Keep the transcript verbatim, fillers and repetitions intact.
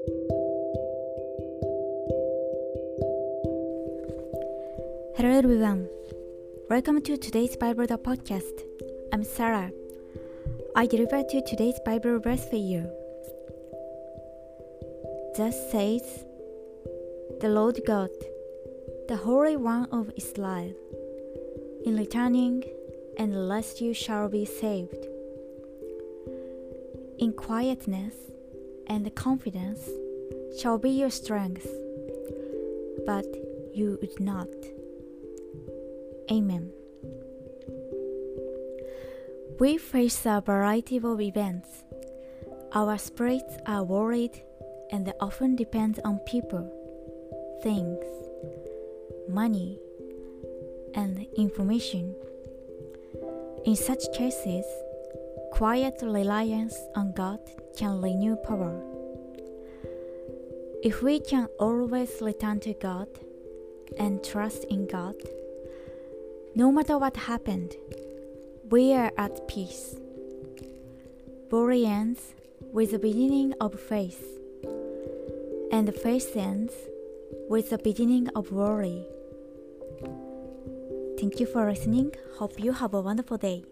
Hello everyone. Welcome to today's Bible the podcast. I'm Sarah. I deliver to today's Bible verse for you. Thus says the Lord God, the Holy One of Israel, in returning and lest you shall be saved. In quietness and confidence shall be your strength, but you would not. Amen. We face a variety of events. Our spirits are worried and they often depend on people, things, money, and information. In such cases, quiet reliance on God can renew power. If we can always return to God and trust in God, no matter what happened, we are at peace. Worry ends with the beginning of faith, and faith ends with the beginning of worry. Thank you for listening. Hope you have a wonderful day.